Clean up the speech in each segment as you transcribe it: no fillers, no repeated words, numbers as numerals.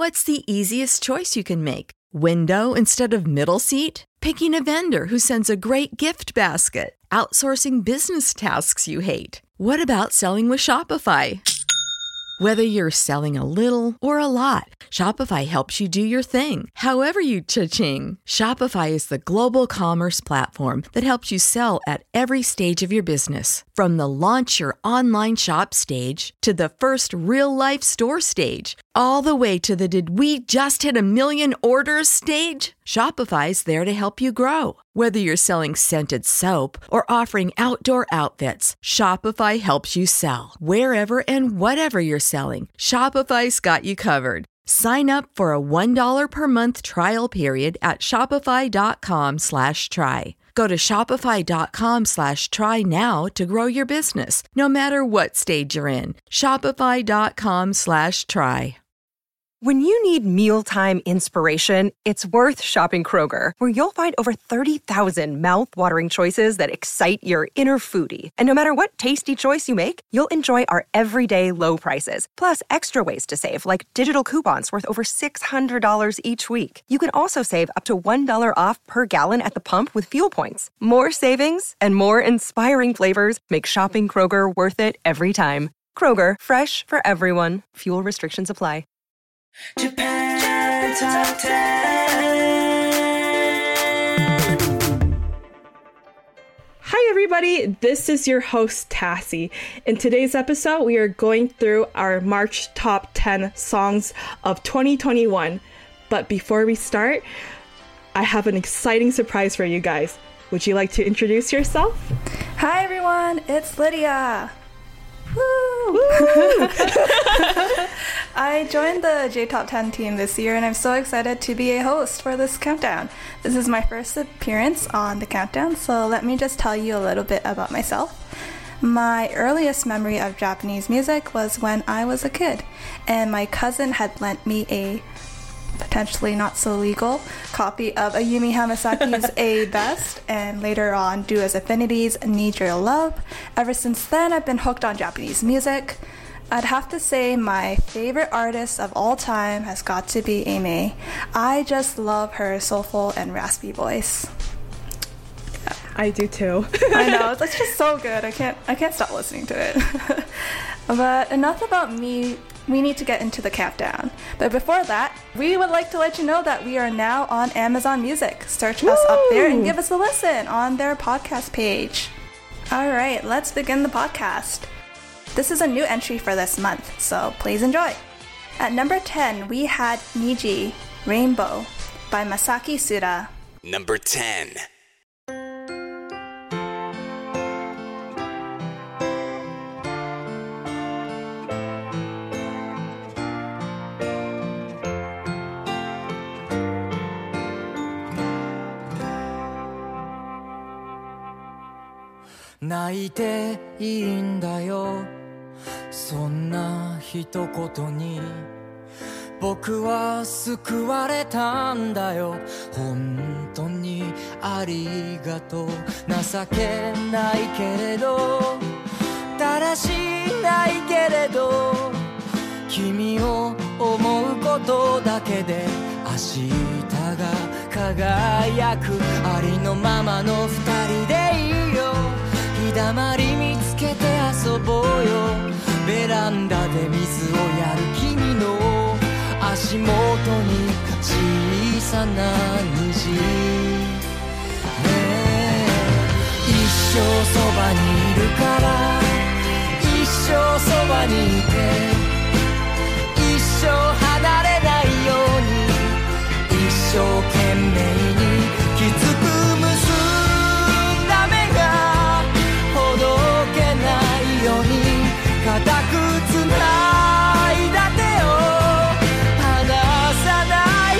What's the easiest choice you can make? Window instead of middle seat? Picking a vendor who sends a great gift basket? Outsourcing business tasks you hate? What about selling with Shopify? Whether you're selling a little or a lot, Shopify helps you do your thing, however you cha-ching. Shopify is the global commerce platform that helps you sell at every stage of your business. From the launch your online shop stage to the first real-life store stage, all the way to the did we just hit a million orders stage. Shopify's there to help you grow. Whether you're selling scented soap or offering outdoor outfits, Shopify helps you sell. Wherever and whatever you're selling, Shopify's got you covered. Sign up for a $1 per month trial period at shopify.com/try. Go to shopify.com/try now to grow your business, no matter what stage you're in. Shopify.com/try. When you need mealtime inspiration, it's worth shopping Kroger, where you'll find over 30,000 mouth-watering choices that excite your inner foodie. And no matter what tasty choice you make, you'll enjoy our everyday low prices, plus extra ways to save, like digital coupons worth over $600 each week. You can also save up to $1 off per gallon at the pump with fuel points. More savings and more inspiring flavors make shopping Kroger worth it every time. Kroger, fresh for everyone. Fuel restrictions apply. Japan Top 10. Hi everybody, this is your host Tassie. In today's episode, we are going through our March Top 10 songs of 2021. But before we start, I have an exciting surprise for you guys. Would you like to introduce yourself? Hi everyone, it's Lydia. Woo! I joined the J Top 10 team this year and I'm so excited to be a host for this countdown. This is my first appearance on the countdown, so let me just tell you a little bit about myself. My earliest memory of Japanese music was when I was a kid, and my cousin had lent me a potentially not so legal copy of Ayumi Hamasaki's A Best, and later on Do As Affinity's Need Your Love. Ever since then, I've been hooked on Japanese music. I'd have to say my favorite artist of all time has got to be Aimee. I just love her soulful and raspy voice. I do too. I know, it's just so good. I can't stop listening to it. But enough about me. We need to get into the countdown. But before that, we would like to let you know that we are now on Amazon Music. Search us up there and give us a listen on their podcast page. Alright, let's begin the podcast. This is a new entry for this month, so please enjoy. At number 10, we had Niji, Rainbow by Masaki Suda. Number 10. 泣いていいんだよそんな一言に僕は救われたんだよ本当にありがとう情けないけれどだらしないけれど君を思うことだけで明日が輝くありのままの二人でいいよ日だまり見つけて遊ぼうよベランダで水をやる君の足元に小さな虹ねえ一生そばにいるから一生そばにいて一生離れないように一生懸命にきつく結んだ目がほどけないように固くつないだ手を離さない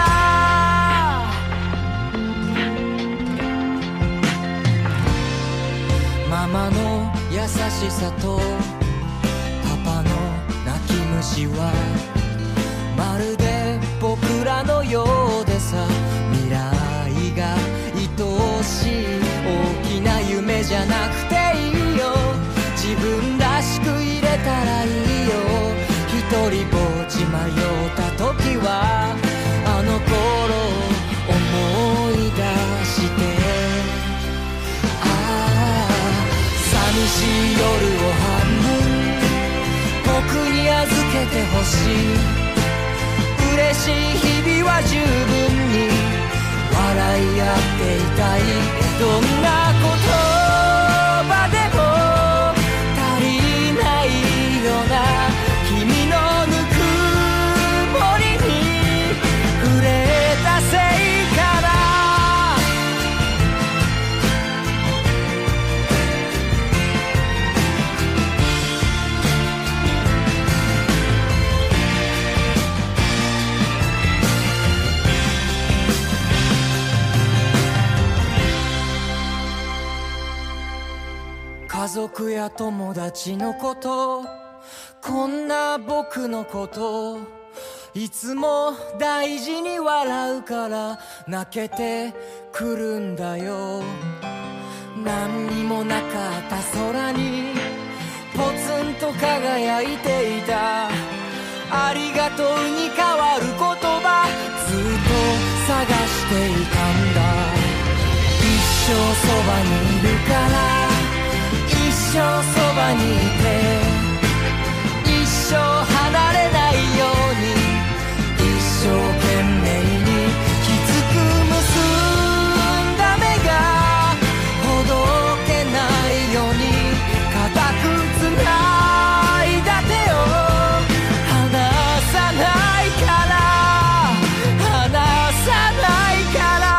からママの優しさとパパの泣き虫はまるで僕らのようでさ未来が愛しい大きな夢じゃなくていいよ自分らしく入れたらいいよ一人ぼっち迷った時けてほしい嬉しい日々は十分に笑い合っていたいどんな言葉でも足りないような君のぬくもりに触れたせいかな家族や友達のことこんな僕のこといつも大事に笑うから泣けてくるんだよ何にもなかった空にポツンと輝いていたありがとうに変わる言葉ずっと探していたんだ一生そばにいるから一生そばにいて一生離れないように一生懸命にきつく結んだ目がほどけないように固くつないだ手を離さないから離さないから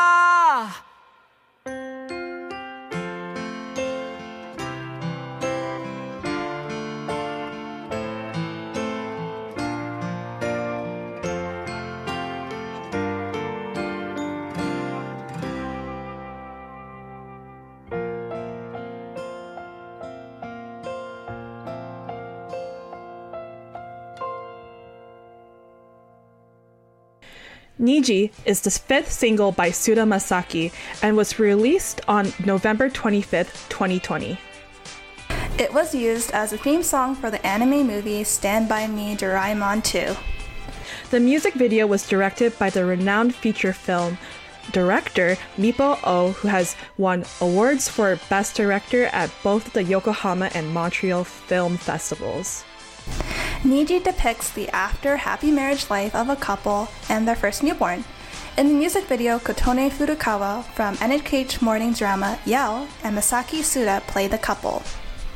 Niji is the fifth single by Suda Masaki and was released on November 25th, 2020. It was used as a theme song for the anime movie Stand By Me Doraemon 2. The music video was directed by the renowned feature film director Mippo Oh, who has won awards for Best Director at both the Yokohama and Montreal Film Festivals. Niji depicts the after-happy marriage life of a couple and their first newborn. In the music video, Kotone Furukawa from NHK morning drama Yell and Masaki Suda play the couple.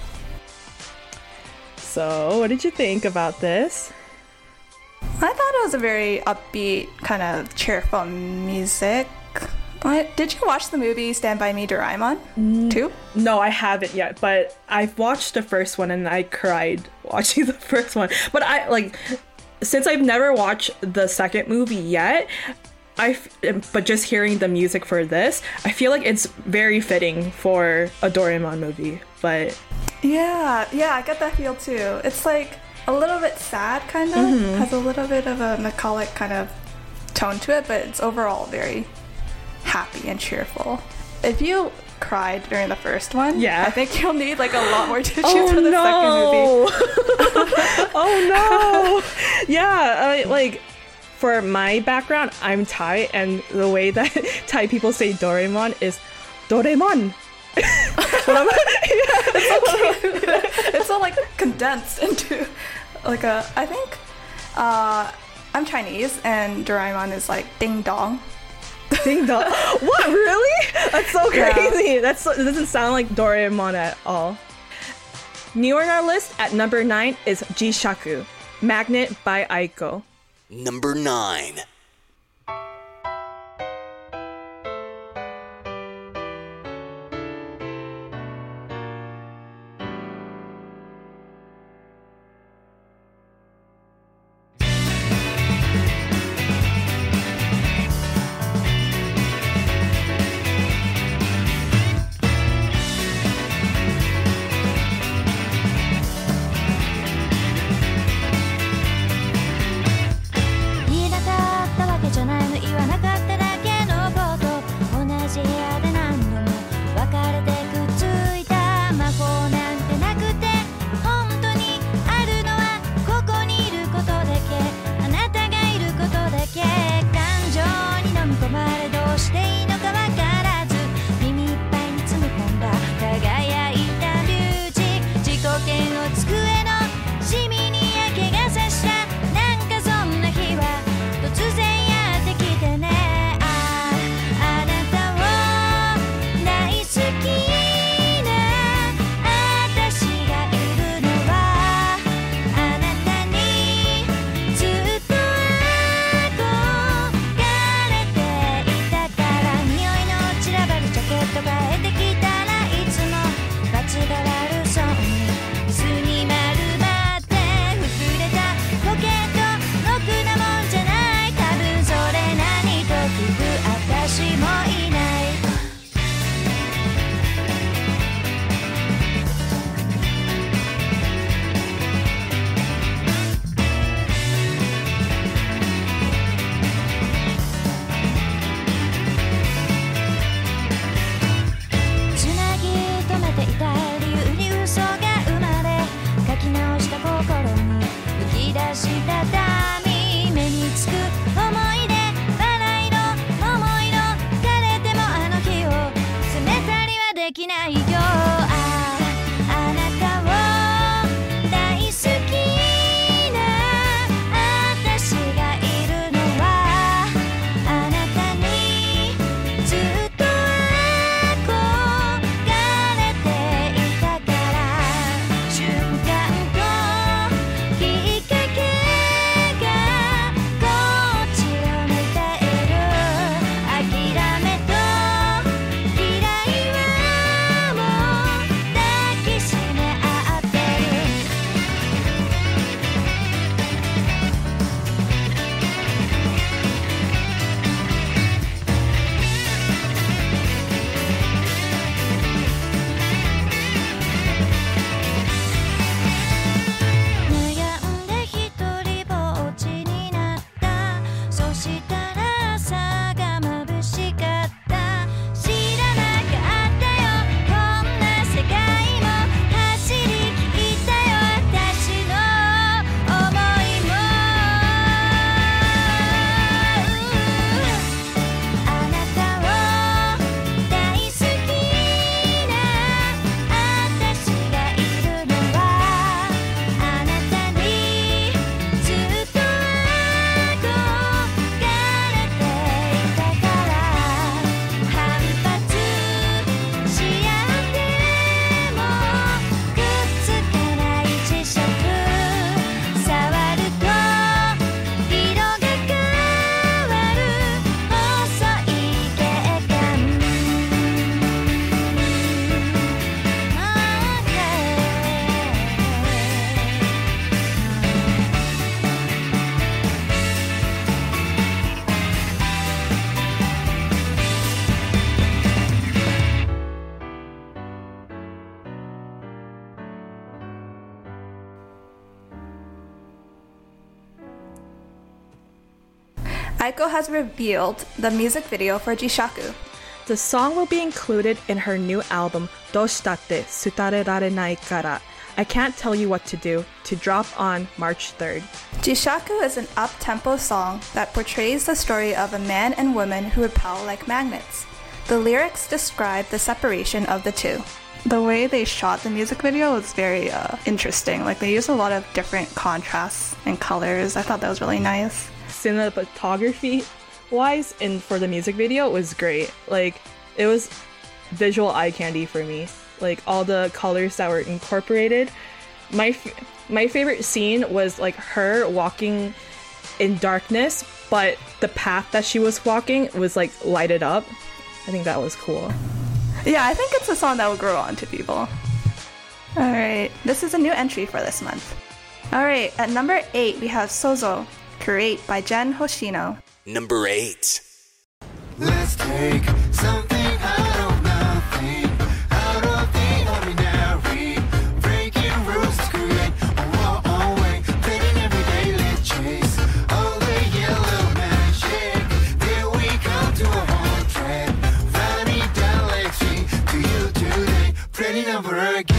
So, what did you think about this? I thought it was a very upbeat, kind of cheerful music. Did you watch the movie Stand By Me Doraemon 2? No, I haven't yet, but I've watched the first one and I cried watching the first one. But since I've never watched the second movie yet, but just hearing the music for this, I feel like it's very fitting for a Doraemon movie. But yeah, I get that feel too. It's like a little bit sad, kind of. Has a little bit of a melancholic kind of tone to it, but it's overall very happy and cheerful. If you cried during the first one, I think you'll need like a lot more tissues for the second movie. Oh no! Yeah, like for my background, I'm Thai, and the way that Thai people say Doraemon is Doraemon. It's all like condensed into like a. I think I'm Chinese, and Doraemon is like ding dong. Ding dong. What, really? That's so crazy. Yeah. It doesn't sound like Doraemon at all. New on our list at number 9 is Jishaku, Magnet by Aiko. Number 9. 「 Aiko has revealed the music video for Jishaku. The song will be included in her new album, Doshitatte Tsutarerarenai Kara, I Can't Tell You What to Do, to drop on March 3rd. Jishaku is an up-tempo song that portrays the story of a man and woman who repel like magnets. The lyrics describe the separation of the two. The way they shot the music video was very interesting. Like, they used a lot of different contrasts and colors. I thought that was really nice. Cinematography-wise, and for the music video, it was great. Like, it was visual eye candy for me. Like, all the colors that were incorporated. My favorite scene was, like, her walking in darkness, but the path that she was walking was, like, lighted up. I think that was cool. Yeah, I think it's a song that will grow on to people. Alright, this is a new entry for this month. Alright, at number 8, we have Sozo, Create by Jen Hoshino. Number 8. Let's take something out of nothing, out of the ordinary, breaking rules to create our own way, fading every day, let's chase all the yellow magic, there we come to a home track, running down Lake Street to you today, pretty number again.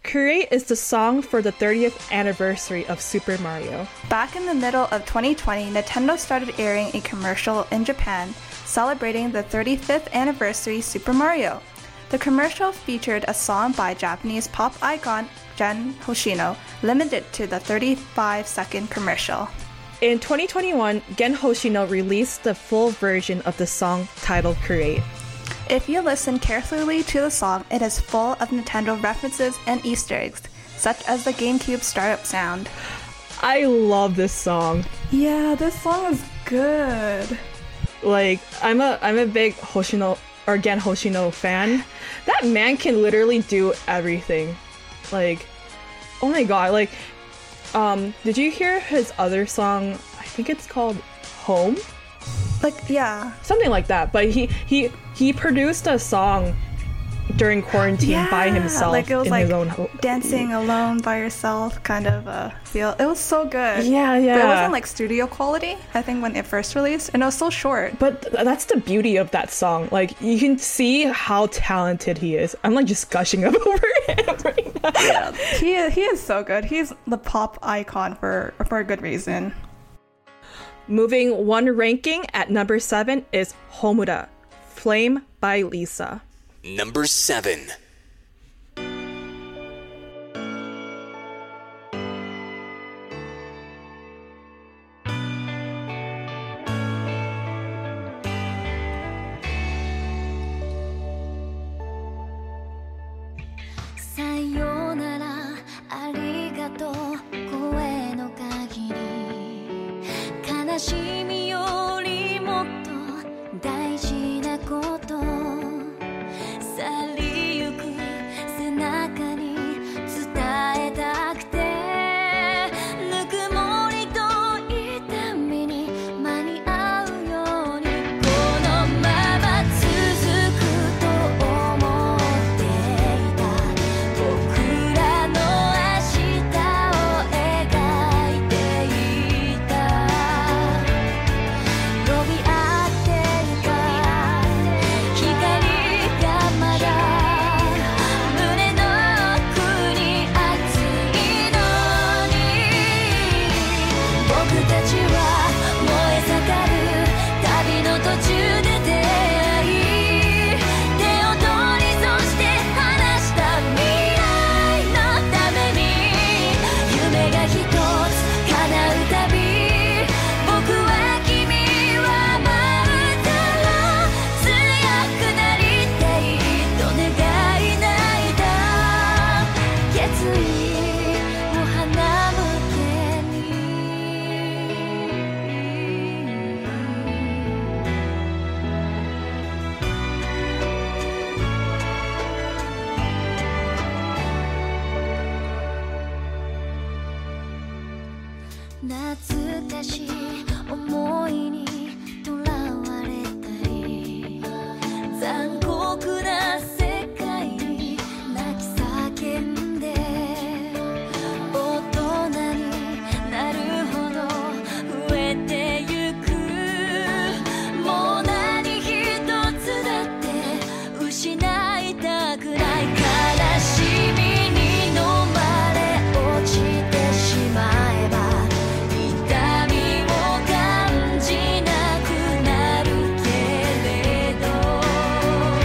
Create is the song for the 30th anniversary of Super Mario. Back in the middle of 2020, Nintendo started airing a commercial in Japan celebrating the 35th anniversary Super Mario. The commercial featured a song by Japanese pop icon Gen Hoshino, limited to the 35-second commercial. In 2021, Gen Hoshino released the full version of the song titled Create. If you listen carefully to the song, it is full of Nintendo references and Easter eggs, such as the GameCube startup sound. I love this song. Yeah, this song is good. Like, I'm a big Hoshino or Gen Hoshino fan. That man can literally do everything. Like, oh my god, like, did you hear his other song? I think it's called Home? Like, yeah. Something like that. But he produced a song during quarantine by himself, like it was in like his own home. dancing alone by yourself kind of feel. It was so good. Yeah. But it wasn't like studio quality, I think, when it first released, and it was so short. But that's the beauty of that song. Like, you can see how talented he is. I'm like just gushing up over him right now. Yeah, he is so good. He's the pop icon for a good reason. Moving one ranking at number 7 is Homura, Flame by Lisa. Number 7. さよならありがとう声の限り悲しみよりもっと大事なこと去りゆく背中に伝えたくてぬくもりと痛みに間に合うようにこのまま続くと思っていた僕らの明日を描いていた呼び合っていた光がまだ胸の奥に熱いのに僕たちは燃え盛る旅の途中で出会い手を取りそして話した未来のために夢が一つ叶うたび僕は君はまた強くなりたいと願い泣いた決意を花向けに懐かしい思いにとらわれたり残酷な世界に泣き叫んで大人になるほど増えてゆくもう何一つだって失いたくない悲しみに飲まれ落ちてしまえば痛みを感じなくなるけれど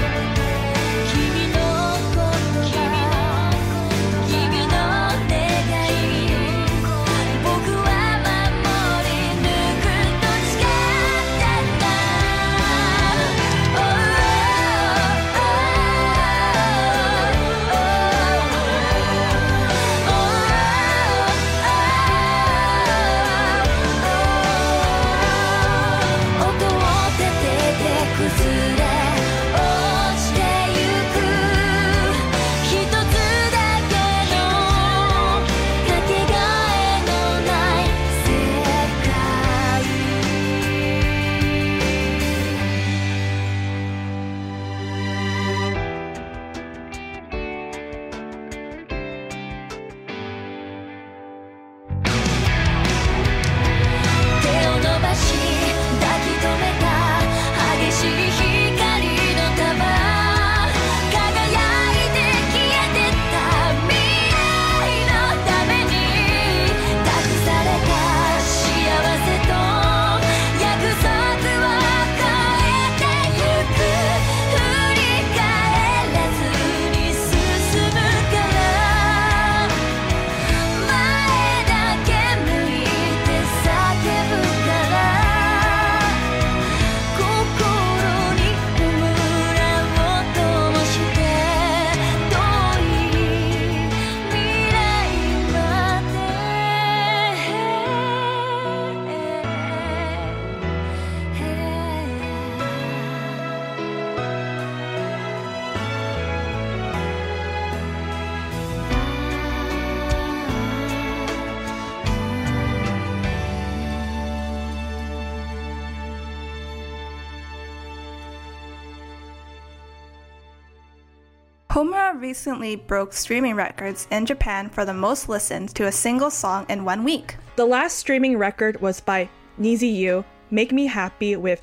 Homura recently broke streaming records in Japan for the most listens to a single song in 1 week. The last streaming record was by Niziyu, Make Me Happy, with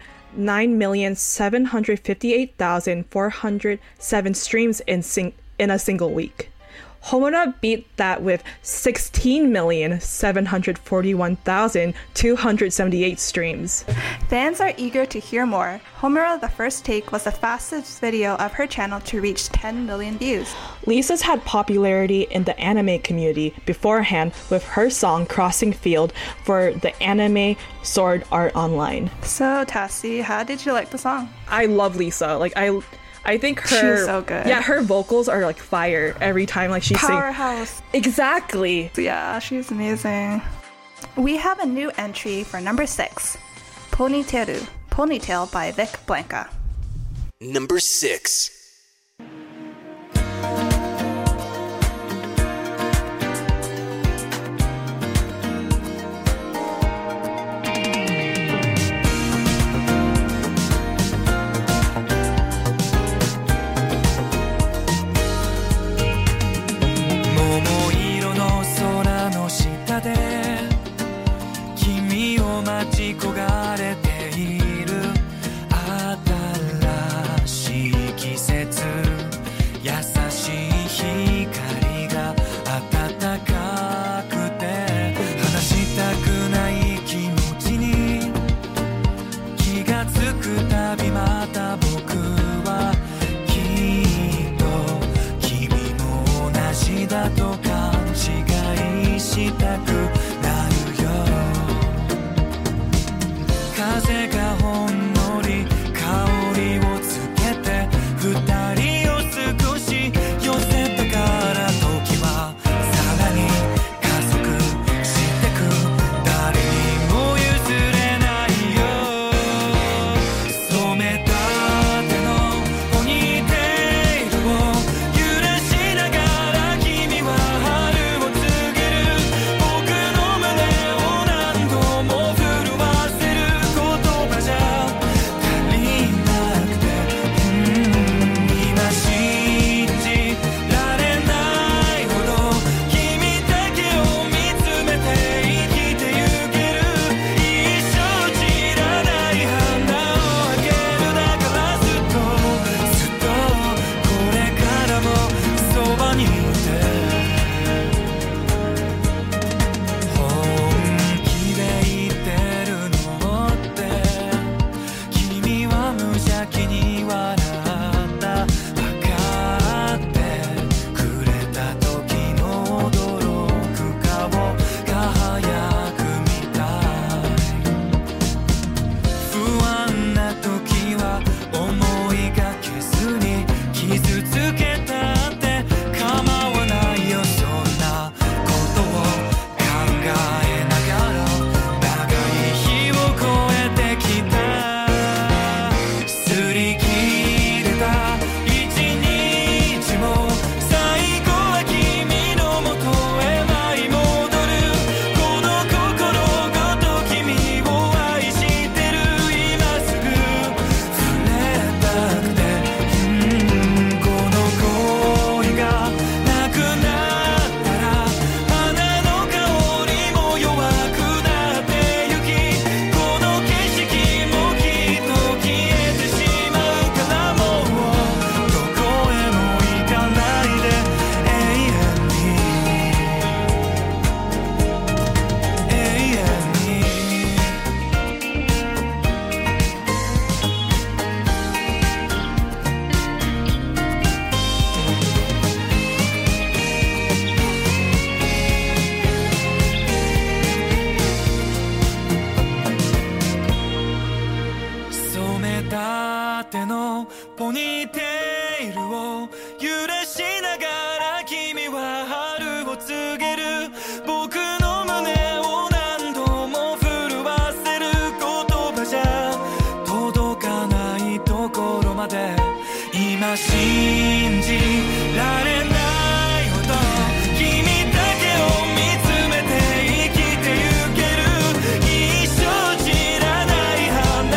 9,758,407 streams in a single week. Homura beat that with 16,741,278 streams. Fans are eager to hear more. Homura The First Take was the fastest video of her channel to reach 10 million views. Lisa's had popularity in the anime community beforehand with her song Crossing Field for the anime Sword Art Online. So, Tassie, how did you like the song? I love Lisa. I think her She's so good. Yeah, her vocals are like fire every time she sings. Powerhouse. Exactly. Yeah, she's amazing. We have a new entry for number 6, Ponytail by Vic Blanca. Number 6.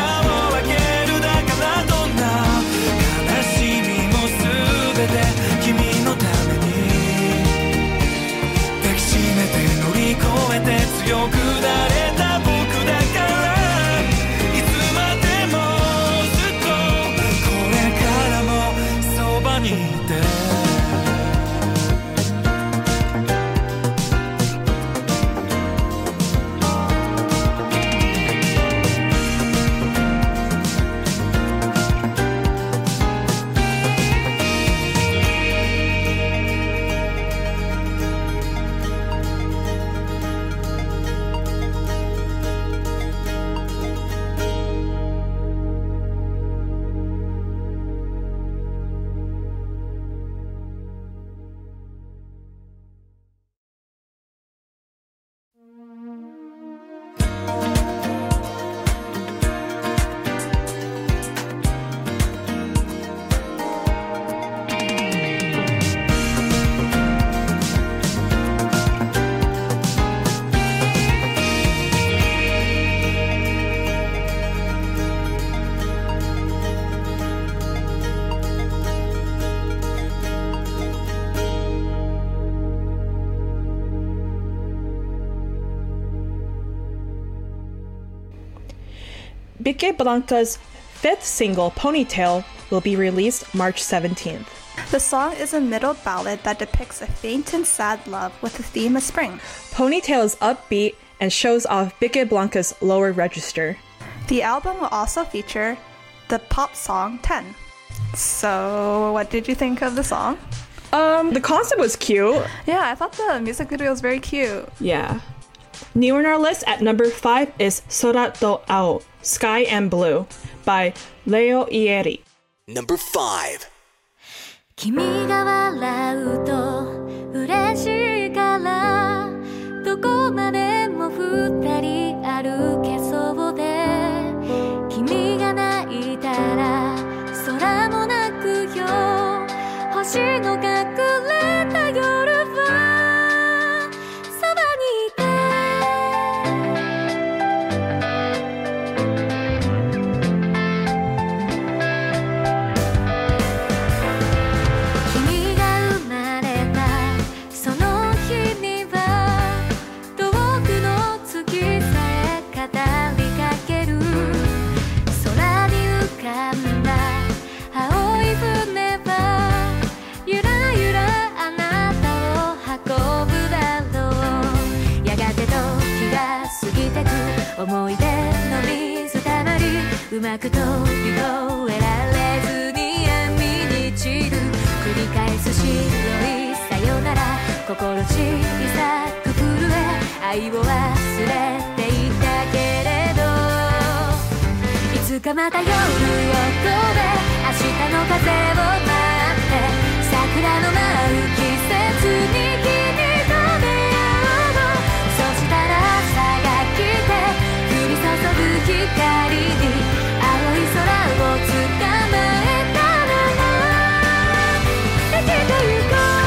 君 Vicky Blanca's fifth single, Ponytail, will be released March 17th. The song is a middle ballad that depicts a faint and sad love with the theme of spring. Ponytail is upbeat and shows off Vicky Blanca's lower register. The album will also feature the pop song 10. So, what did you think of the song? The concept was cute. Yeah, I thought the music video was very cute. Yeah. New on our list at number 5 is Sora to Ao, Sky and Blue by Leo Ieri. Number 5. 君が笑うと嬉しいからどこまでも二人歩けそうで君が泣いたら空も泣くよ星の隠れた夜はそばにいて君が生まれたその日には遠くの月さえ語りかける空に浮かんだ青い船はゆらゆらあなたを運ぶだろうやがて時が過ぎてく思い出の水たまりうまく飛び越えられずに闇に散る繰り返す白いさよなら心小さく震え愛を忘れていたけれどいつかまた夜を越え明日の風を待って桜の舞う季節に君と出会おうそしたら朝が来て降り注ぐ光に青い空を捕まえたなら生きてゆこう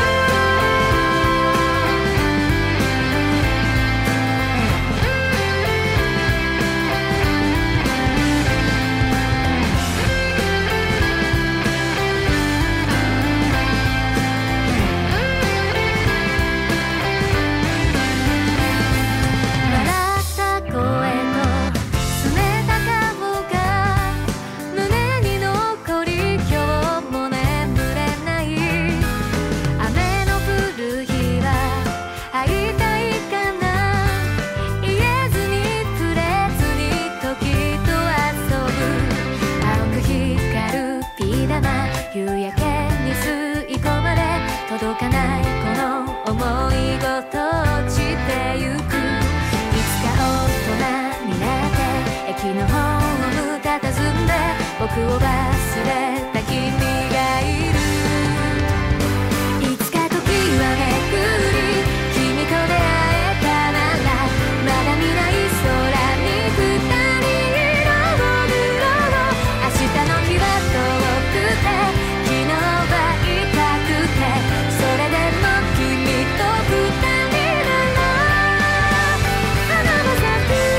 夕焼けに吸い込まれ届かないこの想いごと落ちてゆくいつか大人になって駅のホーム佇んで僕を忘れた君がいるいつか時はめくり君と出会えたならまだ見ない空に二人色を塗ろう明日の日は遠くて昨日は痛くてそれでも君と二人なら花は咲く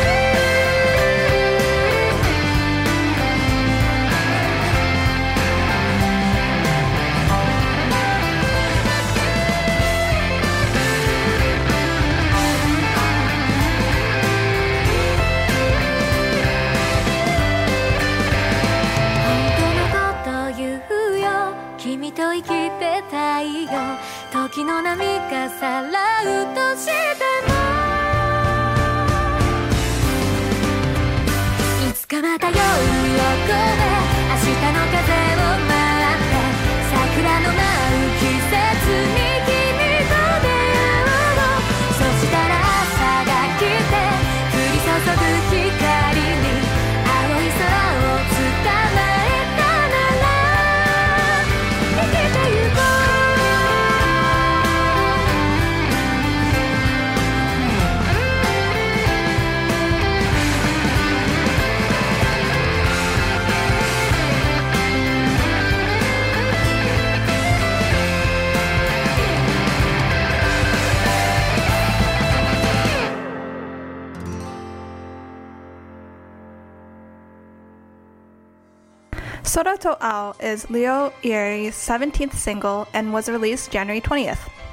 君と生きてたいよ時の波がさらうとしてもいつかまた夜を越え明日の風を待って桜の舞う季節に君と出会おうそしたら朝が来て降り注ぐ光に青い空を捕まえたなら生きてゆこう Sora to Ao is Leo Ieri's 17th single and was released January 20th.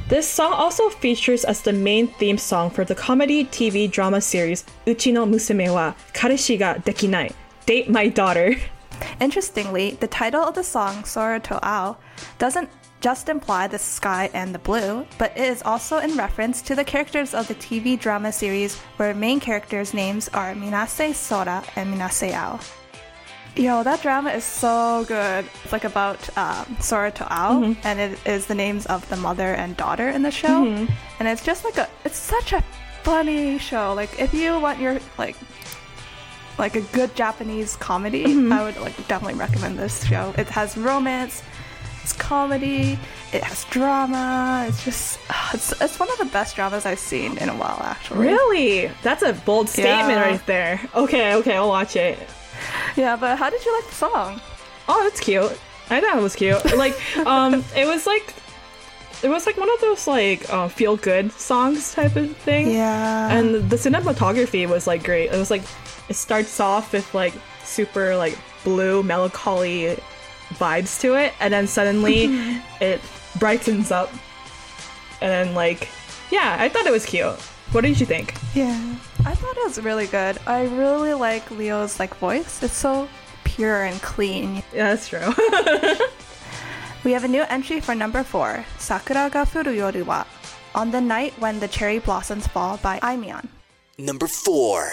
This song also features as the main theme song for the comedy TV drama series Uchi no Musume wa Kareshi ga Dekinai, Date My Daughter. Interestingly, the title of the song, Sora to Ao, doesn't just imply the sky and the blue, but it is also in reference to the characters of the TV drama series where main characters' names are Minase Sora and Minase Ao. Yo, that drama is so good. It's like about Sora to Ao, and it is the names of the mother and daughter in the show. And it's just like it's such a funny show. Like if you want your like a good Japanese comedy, I would definitely recommend this show. It has romance, it's comedy, it has drama. It's just it's one of the best dramas I've seen in a while, actually. Really? That's a bold statement right there. Okay, I'll watch it. Yeah, but how did you like the song? Oh, that's cute. I thought it was cute. Like, it was like one of those like feel good songs type of thing. Yeah. And the cinematography was like great. It was like it starts off with like super like blue melancholy vibes to it, and then suddenly it brightens up, and then like yeah, I thought it was cute. What did you think? Yeah, I thought it was really good. I really like Leo's like voice. It's so pure and clean. Yeah, that's true. We have a new entry for number 4, Sakura ga furu yoru wa, On the Night When the Cherry Blossoms Fall by Aimyon. Number 4.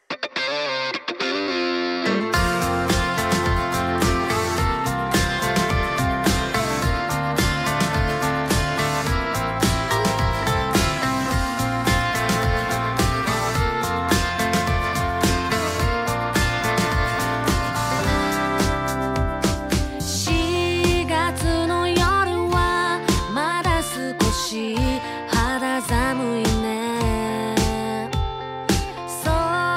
4月の夜はまだ少し肌寒いね。そ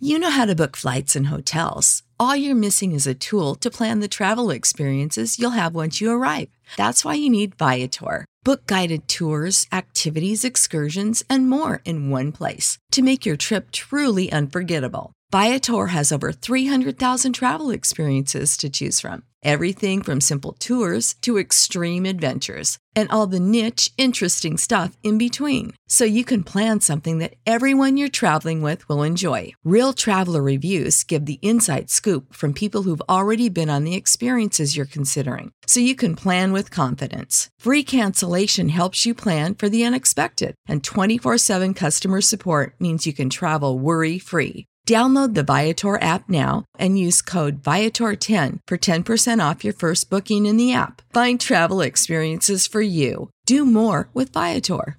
You know how to book flights and hotels. All you're missing is a tool to plan the travel experiences you'll have once you arrive. That's why you need Viator. Book guided tours, activities, excursions, and more in one place to make your trip truly unforgettable. Viator has over 300,000 travel experiences to choose from. Everything from simple tours to extreme adventures and all the niche, interesting stuff in between. So you can plan something that everyone you're traveling with will enjoy. Real traveler reviews give the inside scoop from people who've already been on the experiences you're considering. So you can plan with confidence. Free cancellation helps you plan for the unexpected. And 24/7 customer support means you can travel worry-free. Download the Viator app now and use code Viator10 for 10% off your first booking in the app. Find travel experiences for you. Do more with Viator.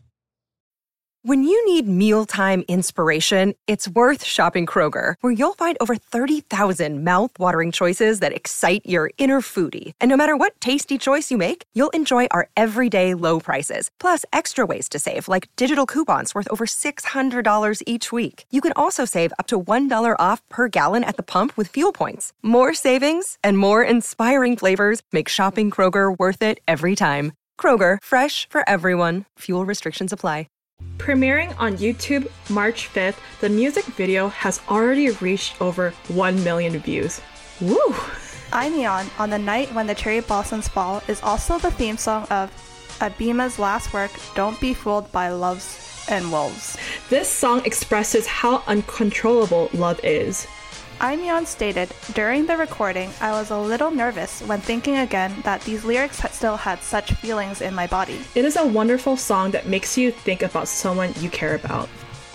When you need mealtime inspiration, it's worth shopping Kroger, where you'll find over 30,000 mouth-watering choices that excite your inner foodie. And no matter what tasty choice you make, you'll enjoy our everyday low prices, plus extra ways to save, like digital coupons worth over $600 each week. You can also save up to $1 off per gallon at the pump with fuel points. More savings and more inspiring flavors make shopping Kroger worth it every time. Kroger, fresh for everyone. Fuel restrictions apply. Premiering on YouTube March 5th, the music video has already reached over 1 million views. Woo! Imeon, On the Night When the Cherry Blossoms Fall, is also the theme song of Abima's last work, Don't Be Fooled by Loves and Wolves. This song expresses how uncontrollable love is. Imeon stated, during the recording, I was a little nervous when thinking again that these lyrics still had such feelings in my body. It is a wonderful song that makes you think about someone you care about.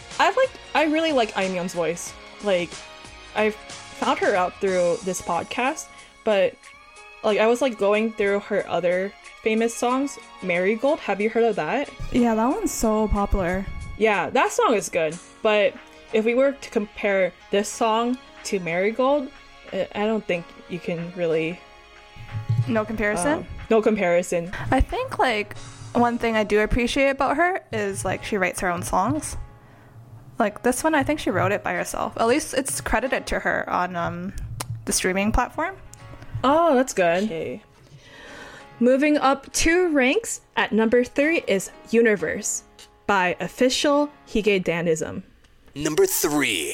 I really like Imeon's voice. Like, I found her out through this podcast, but like I was like going through her other famous songs. Marigold, have you heard of that? Yeah, that one's so popular. Yeah, that song is good, but if we were to compare this song to Marigold, I don't think you can really... No comparison? No comparison. I think, like, one thing I do appreciate about her is, like, she writes her own songs. Like, this one, I think she wrote it by herself. At least it's credited to her on the streaming platform. Oh, that's good. Okay. Moving up 2 ranks, at number 3 is Universe by Official Hige Dandism. Number 3.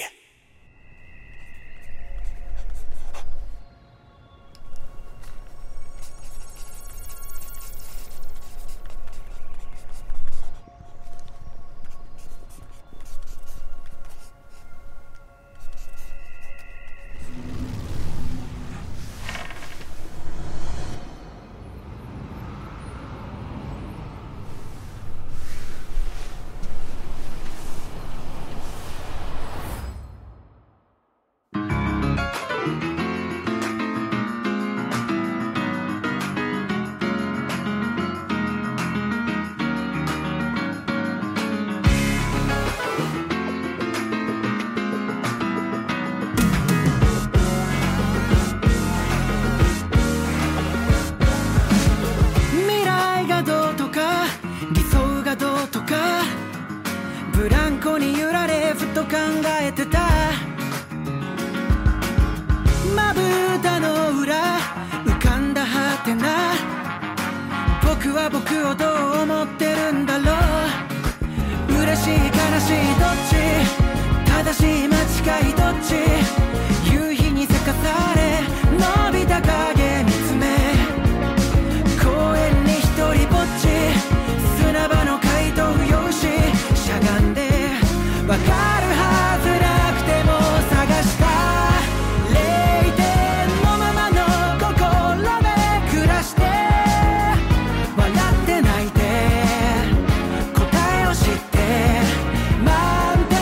満点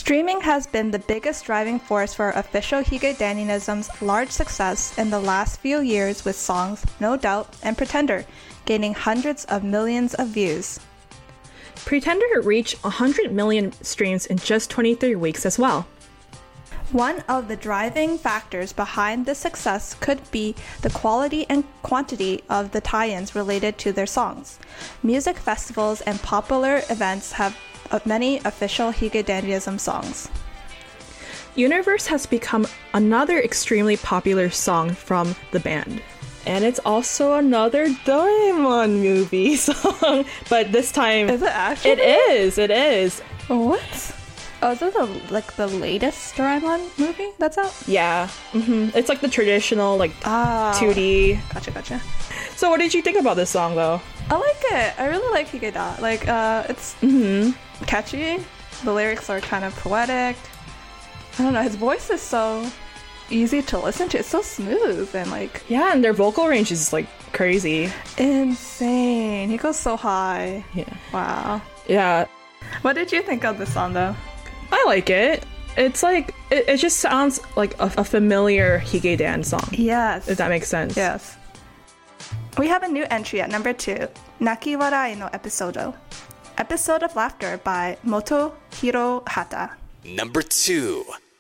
Streaming has been the biggest driving force for official Higedanianism's large success in the last few years with songs No Doubt and Pretender gaining hundreds of millions of views. Pretender reached 100 million streams in just 23 weeks as well. One of the driving factors behind this success could be the quality and quantity of the tie-ins related to their songs. Music festivals and popular events have many official Higedanianism songs. Universe has become another extremely popular song from the band. And it's also another Doraemon movie song. But this time... Is it actually? It is. What? Oh, is this the latest Doraemon movie that's out? Yeah. It's like the traditional 2D. Gotcha. So what did you think about this song though? I like it. I really like Higeda. It's catchy. The lyrics are kind of poetic. I don't know, his voice is so easy to listen to. It's so smooth and Yeah, and their vocal range is crazy. insane. He goes so high. Yeah. Wow. Yeah. What did you think of this song though? I like it. It's it just sounds like a familiar Higedan song. Yes. If that makes sense. Yes. We have a new entry at number 2, Naki Warai no Episodo. Episode of Laughter by Motohiro Hata. Number 2.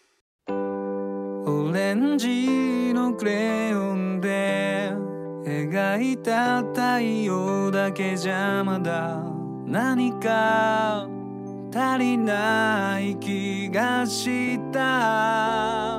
オレンジのクレヨンで描いた太陽だけじゃまだ何か足りない気がした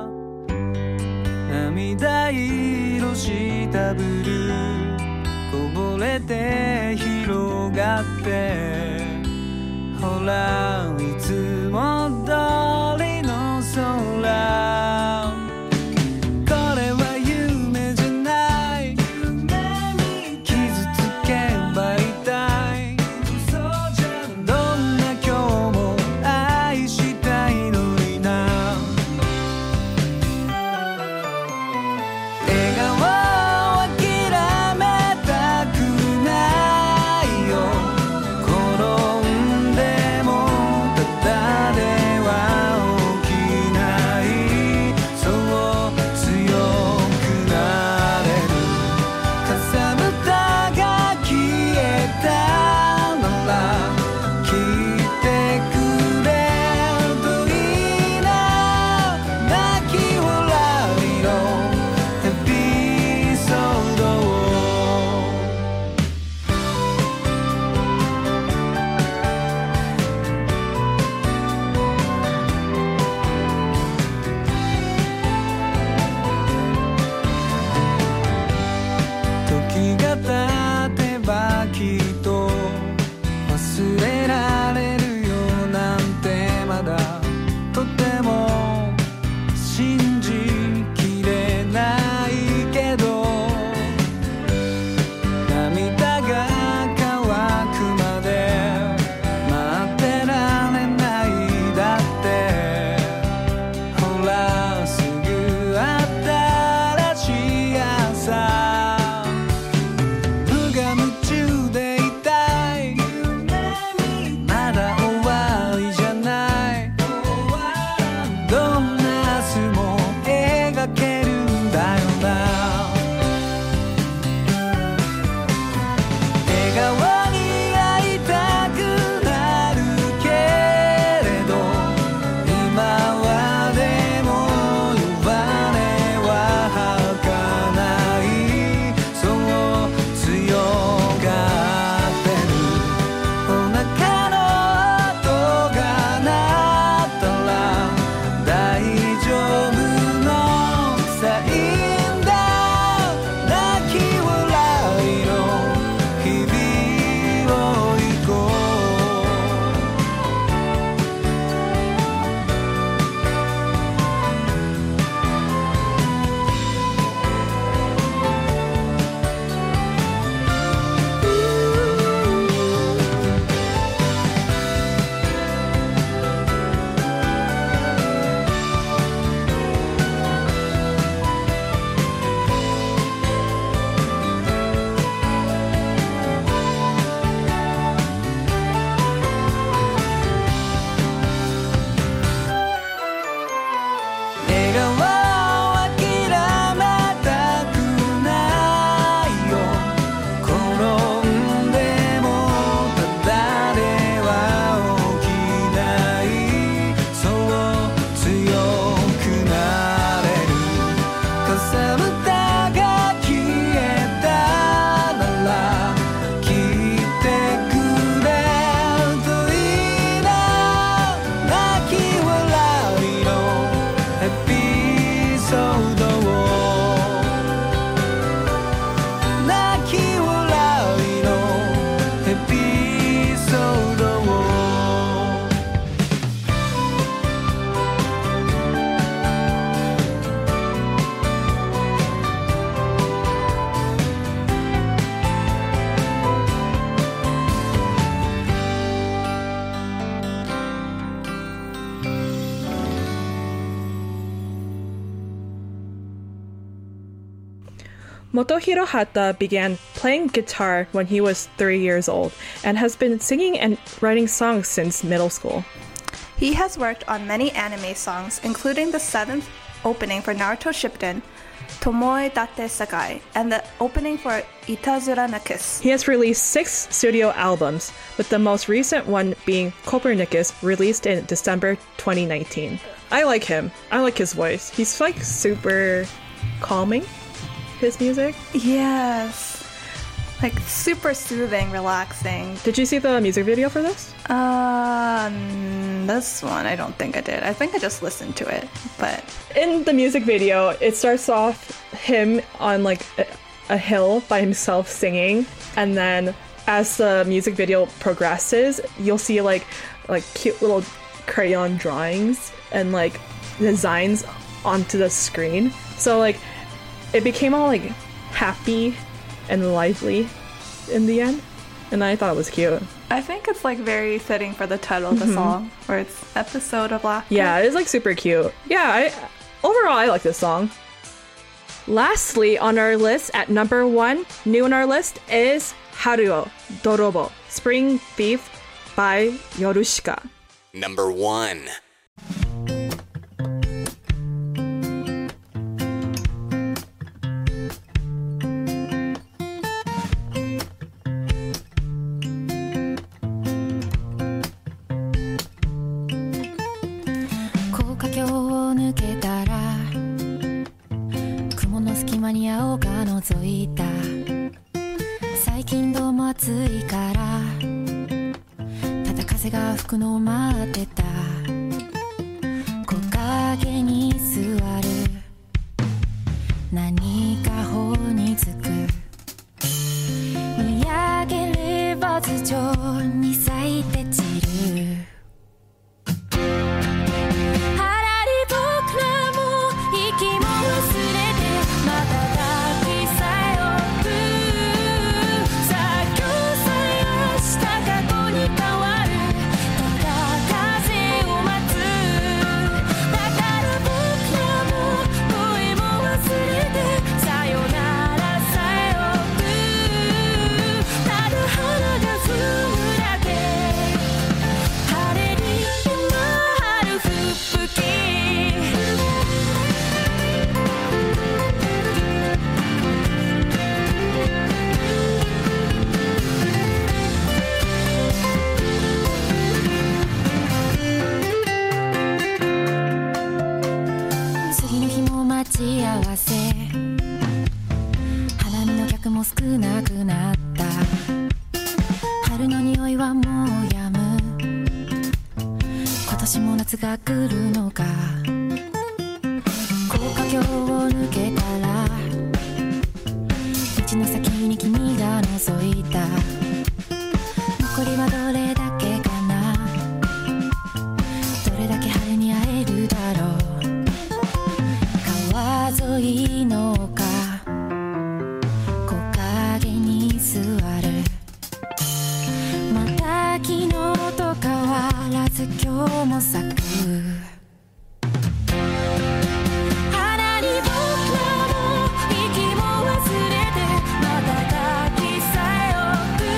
涙色したブルーこぼれて広がってほらいつも通りの空これは夢じゃない傷つけば痛いどんな今日も愛したいのにな笑顔諦めたくないよ転んでもただで Motohiro Hata began playing guitar when he was 3 years old and has been singing and writing songs since middle school. He has worked on many anime songs, including the 7th opening for Naruto Shippuden, Tomoe Date Sakai, and the opening for Itazura na Kiss. He has released 6 studio albums, with the most recent one being Copernicus, released in December 2019. I like him. I like his voice. He's like super calming, his music. Yes. Like super soothing, relaxing. Did you see the music video for this? This one, I don't think I did. I think I just listened to it, but... In the music video, it starts off him on like a hill by himself singing, and then as the music video progresses, you'll see like cute little crayon drawings and like designs onto the screen. So like it became all like happy and lively in the end, and I thought it was cute. I think it's like very fitting for the title of the song, where it's Episode of Laughter. Yeah, it's like super cute. Yeah, overall I like this song. Lastly on our list, at number 1, new on our list, is Haruo Dorobo, Spring Thief by Yorushika. Number 1. 「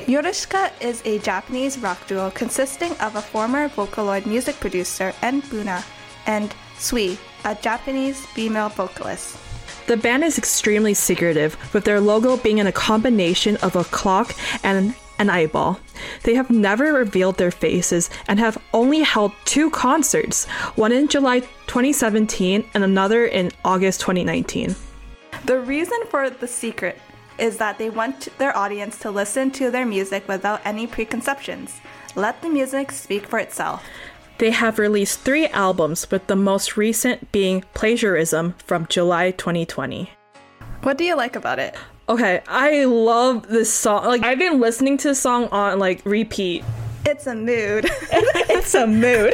Yorushika is a Japanese rock duo consisting of a former Vocaloid music producer, En Buna, and Sui, a Japanese female vocalist. The band is extremely secretive, with their logo being in a combination of a clock and an eyeball. They have never revealed their faces and have only held 2 concerts, one in July 2017 and another in August 2019. The reason for the secret is that they want their audience to listen to their music without any preconceptions. Let the music speak for itself. They have released 3 albums, with the most recent being Plagiarism from July 2020. What do you like about it? Okay, I love this song. Like, I've been listening to this song on like repeat. It's a mood. It's a mood.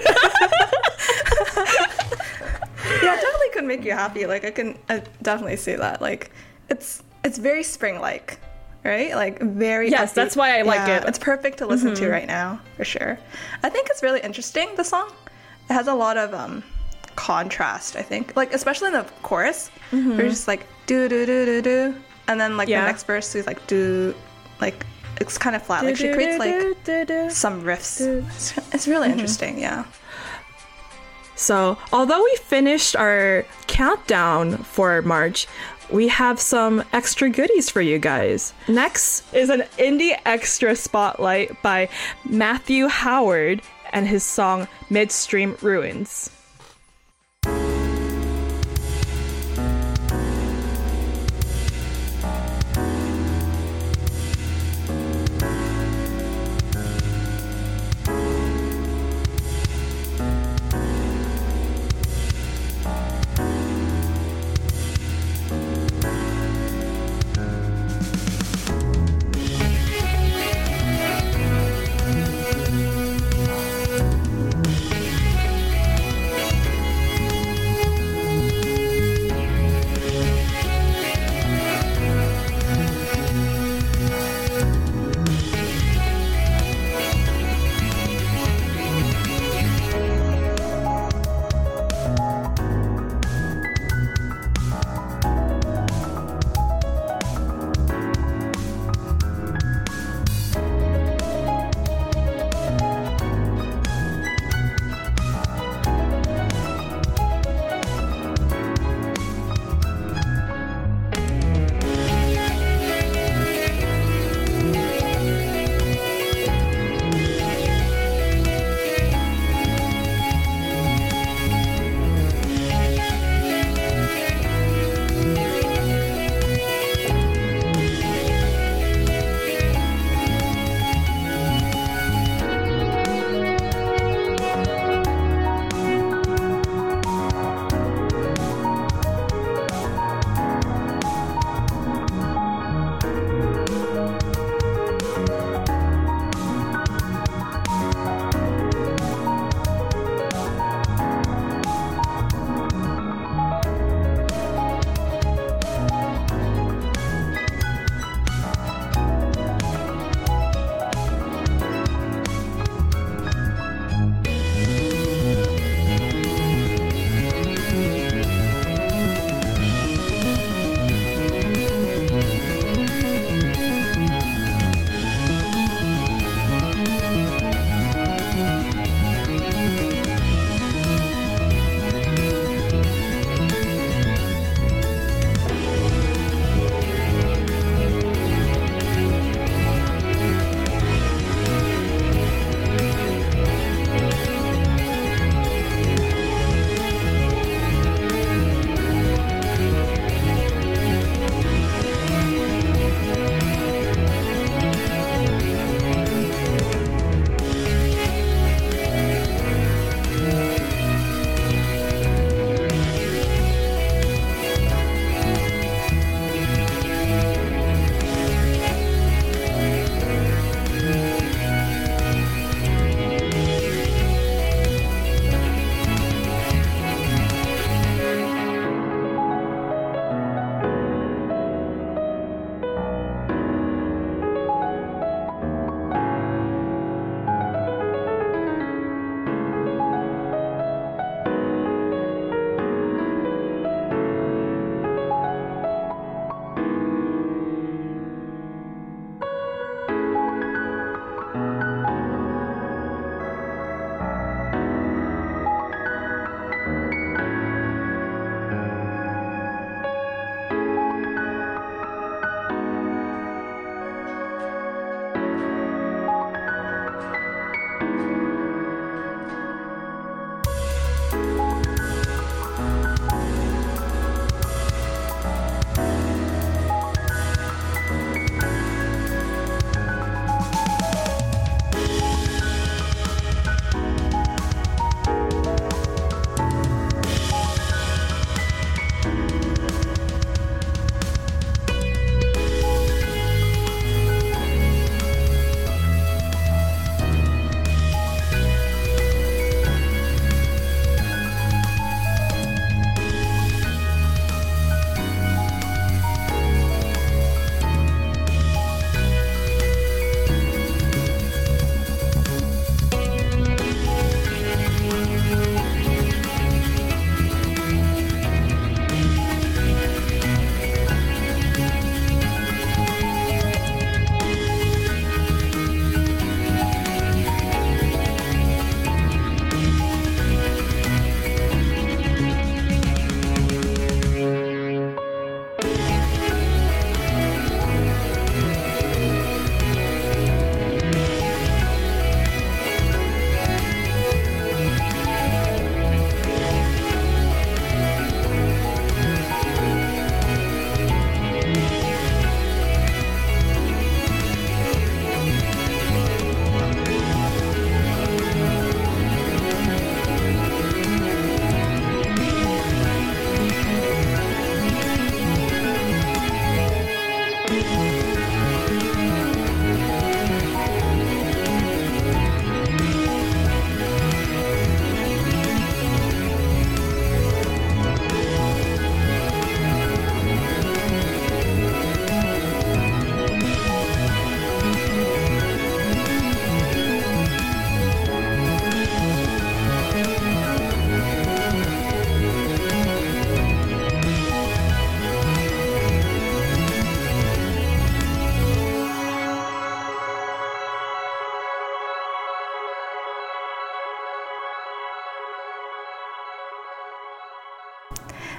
Yeah, it definitely could make you happy. Like, I definitely see that. Like, it's very spring-like, right? Like, very Yes, upbeat. that's why I like it. It's perfect to listen to right now, for sure. I think it's really interesting, the song. It has a lot of contrast, I think. Like, especially in the chorus, where it's just like, do-do-do-do-do. And then, like, the next verse is like, do, like, it's kind of flat. Like, she creates, like, some riffs. It's really interesting, yeah. So, although we finished our countdown for March, we have some extra goodies for you guys. Next is an indie extra spotlight by Matthew Howard and his song Midstream Ruins.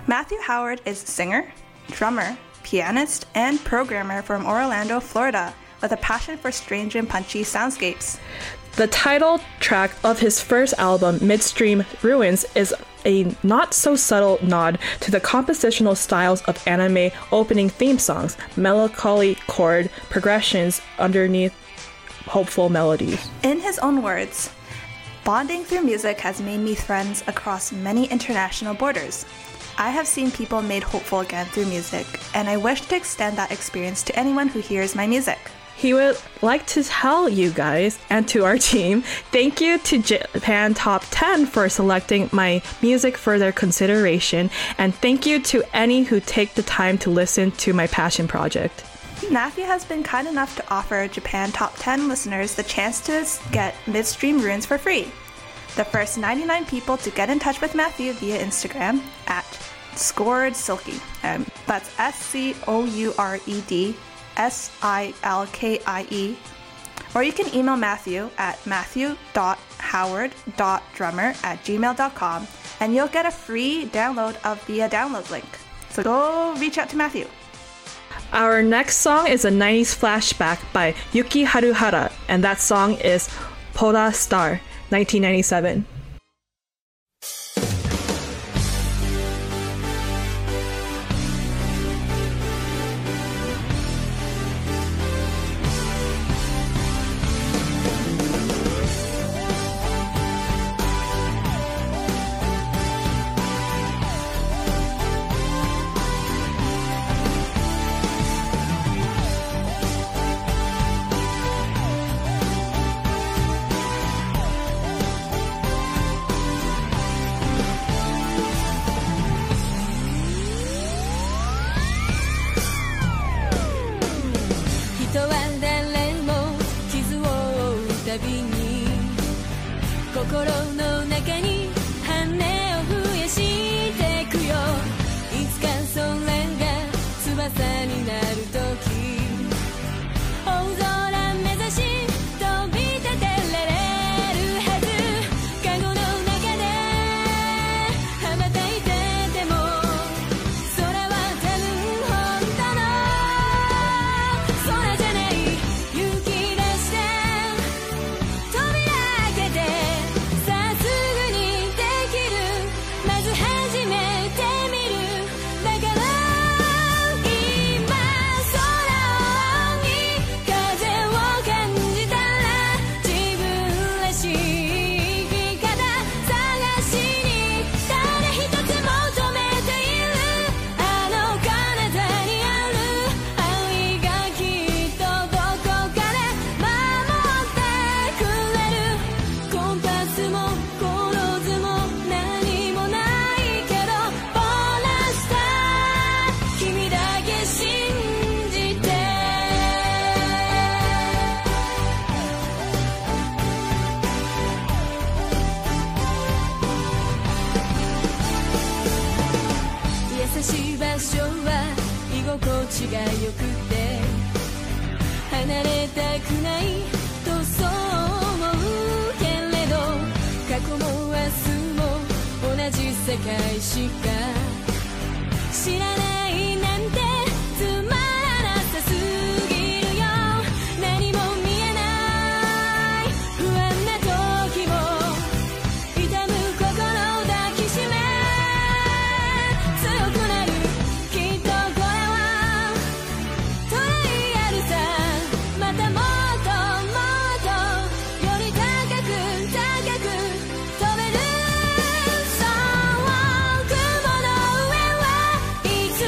Matthew Howard is a singer, drummer, pianist, and programmer from Orlando, Florida, with a passion for strange and punchy soundscapes. The title track of his first album, Midstream Ruins, is a not-so-subtle nod to the compositional styles of anime opening theme songs, melancholy chord progressions underneath hopeful melodies. In his own words, bonding through music has made me friends across many international borders. I have seen people made hopeful again through music, and I wish to extend that experience to anyone who hears my music. He would like to tell you guys and to our team, thank you to Japan Top 10 for selecting my music for their consideration, and thank you to any who take the time to listen to my passion project. Matthew has been kind enough to offer Japan Top 10 listeners the chance to get Midstream Ruins for free. The first 99 people to get in touch with Matthew via Instagram at ScoredSilky. That's SCOUREDSILKIE. Or you can email Matthew at matthew.howard.drummer@gmail.com and you'll get a free download of the download link. So go reach out to Matthew. Our next song is a 90s flashback by Yuki Haruhara, and that song is Polar Star, 1997. 心の中に羽を増やしていくよ。いつかそれが翼になるとき、大空目指し飛び立てられるはず。カゴの中で羽ばたいてても、空は多分本当の空じゃない。勇気出して扉開けて、さあすぐにできる。まず始めてみる。だから今空に風を感じたら、自分らしい生き方探しに誰一つ求めている。あの彼方にある愛がきっとどこかで守ってくれる。コンパスもコロズも何もないけど、ポラスター君だけ信じて。優しい場所は居心地が良くて、離れたくないとそう思うけれど、過去も明日も同じ世界しか知らないなんてつまらなさすぎるよ。何も見えない不安な時も、痛む心抱きしめ強くなる。きっとこれはトライアルさ。またもっともっとより高く高く飛べる。そう雲の上はいつ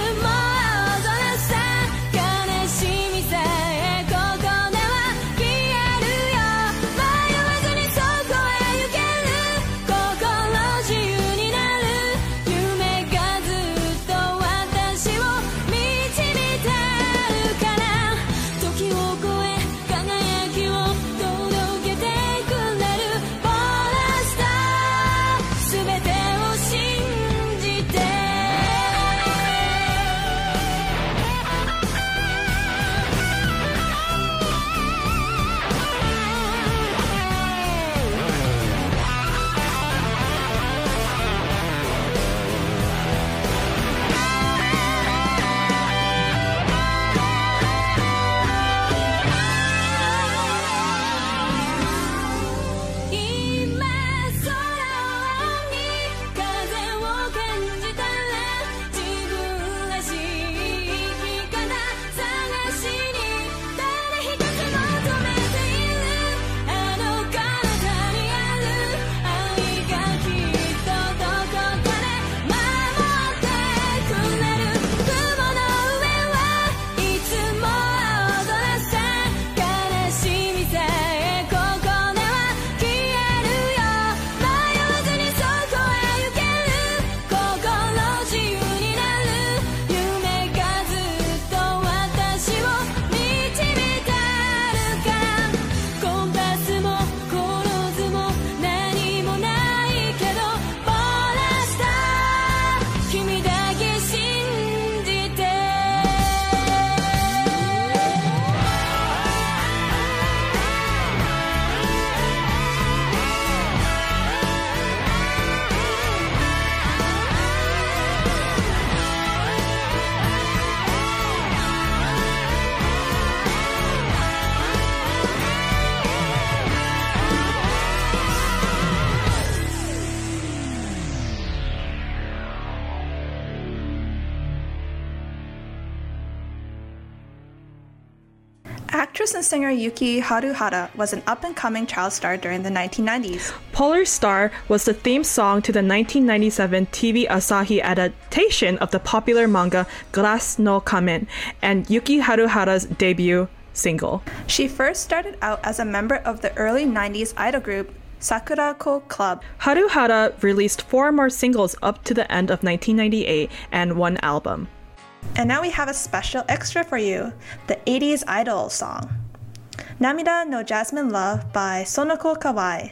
Actress and singer Yuki Haruhara was an up-and-coming child star during the 1990s. Polar Star was the theme song to the 1997 TV Asahi adaptation of the popular manga Glass no Kamen and Yuki Haruhara's debut single. She first started out as a member of the early 90s idol group Sakurako Club. Haruhara released 4 more singles up to the end of 1998 and 1 album. And now we have a special extra for you, the 80s idol song, Namida no Jasmine Love by Sonoko Kawai.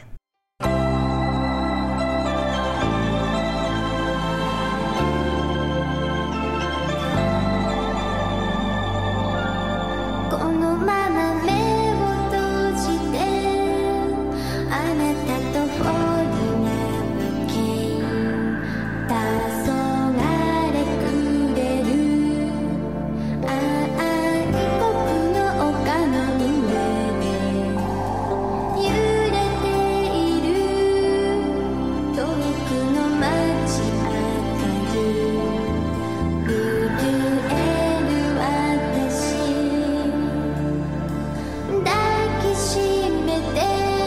このまま目を閉じてあなたとフォーリナムキン黄昏くれる愛国の丘の上で揺れている遠くの街明かり震える私抱きしめて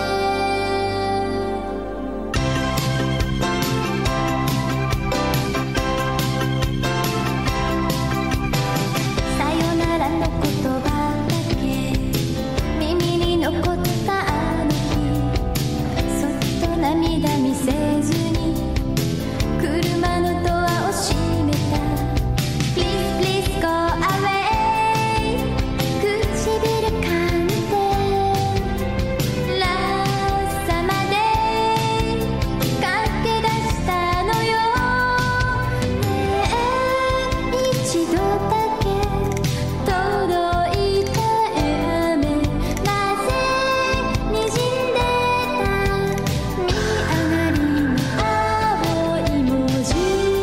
さよならの言葉だけ耳に残ったあの日そっと涙見せずに車のドアを閉めた Please please go away 唇噛んでラッサまで駆け出したのよねえ一度だけ届いた雨なぜ滲んでた見上がりの青い文字切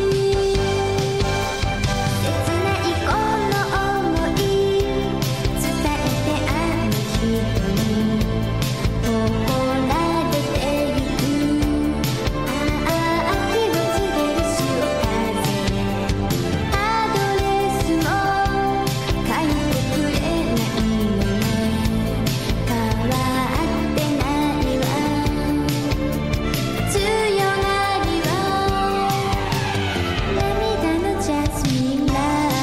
ないこの想い伝えてあの人に怒られてゆくああ秋を告げる潮風アドレスも書いてくれないのね変わってないわ強がりは涙のジャスミンラ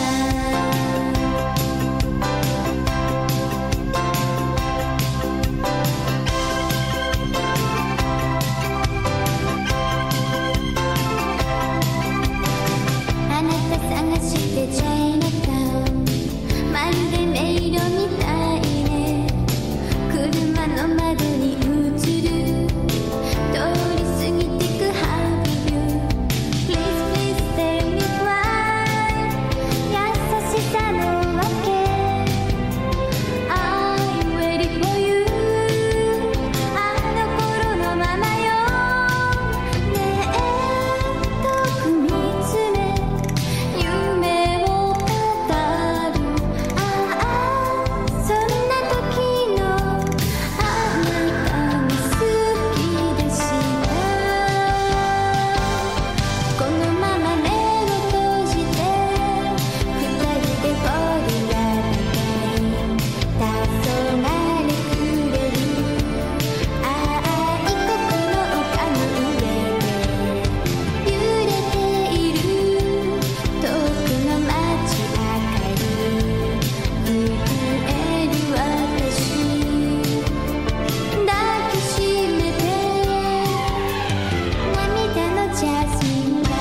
あなた探してチャイナタウンまるで迷路みたいね車の窓に映る通り過ぎてくハブユ Please please tell me why 優しさのわけ I'm ready for you あの頃のままよねえ遠く見つめ夢を語るああそんな時のあなたが好きでしたこのまま目を閉じて二人でフォーリアだけ黄昏くれる愛国の丘の上で揺れている遠くの街明かり震える私抱きしめて涙のジャスミンラ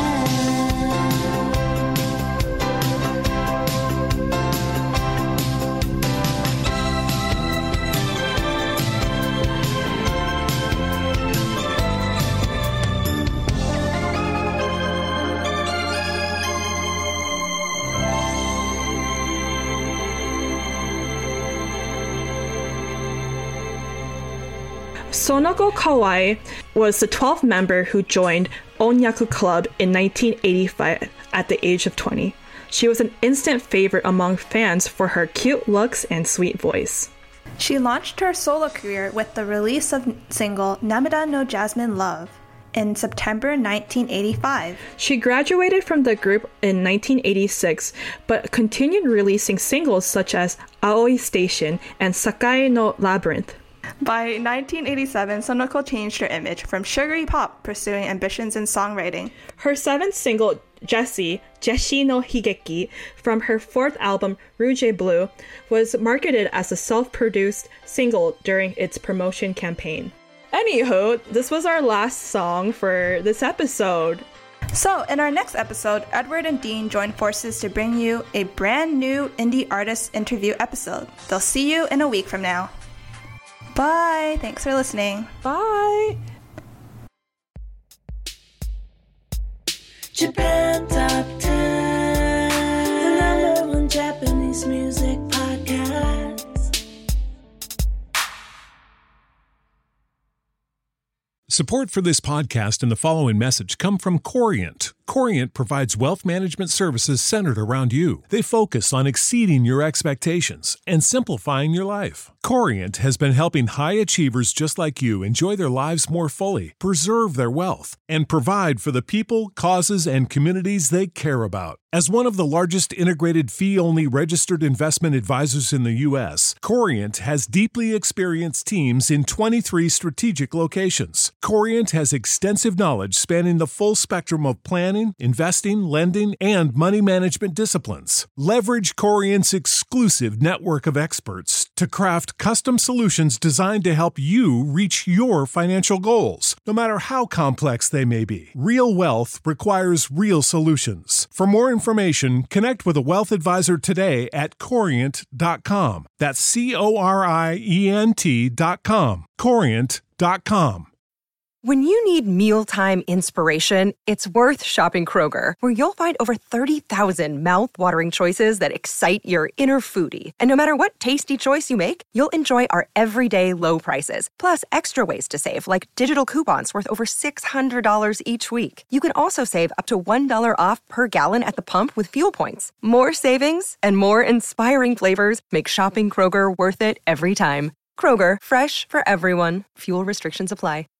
Sonoko Kawai was the 12th member who joined Onyaku Club in 1985 at the age of 20. She was an instant favorite among fans for her cute looks and sweet voice. She launched her solo career with the release of single Namida no Jasmine Love. in September 1985. She graduated from the group in 1986, but continued releasing singles such as Aoi Station and Sakai no Labyrinth. By 1987, Sonoko changed her image from sugary pop, pursuing ambitions in songwriting. Her seventh single, Jessie no Higeki, from her fourth album, Rouge et Bleu, was marketed as a self-produced single during its promotion campaign. Anywho, this was our last song for this episode. So, in our next episode, Edward and Dean join forces to bring you a brand new indie artist interview episode. They'll see you in a week from now. Bye! Thanks for listening. Bye! Japan Top 10, the number one Japanese music podcast. Support for this podcast and the following message come from Corient. Corient provides wealth management services centered around you. They focus on exceeding your expectations and simplifying your life. Corient has been helping high achievers just like you enjoy their lives more fully, preserve their wealth, and provide for the people, causes, and communities they care about. As one of the largest integrated fee-only registered investment advisors in the U.S., Corient has deeply experienced teams in 23 strategic locations. Corient has extensive knowledge spanning the full spectrum of planning, investing, lending, and money management disciplines. Leverage Corient's exclusive network of experts to craft custom solutions designed to help you reach your financial goals, no matter how complex they may be. Real wealth requires real solutions. For more information, connect with a wealth advisor today at Corient.com. That's Corient.com. Corient.com. When you need mealtime inspiration, it's worth shopping Kroger, where you'll find over 30,000 mouth-watering choices that excite your inner foodie. And no matter what tasty choice you make, you'll enjoy our everyday low prices, plus extra ways to save, like digital coupons worth over $600 each week. You can also save up to $1 off per gallon at the pump with fuel points. More savings and more inspiring flavors make shopping Kroger worth it every time. Kroger, fresh for everyone. Fuel restrictions apply.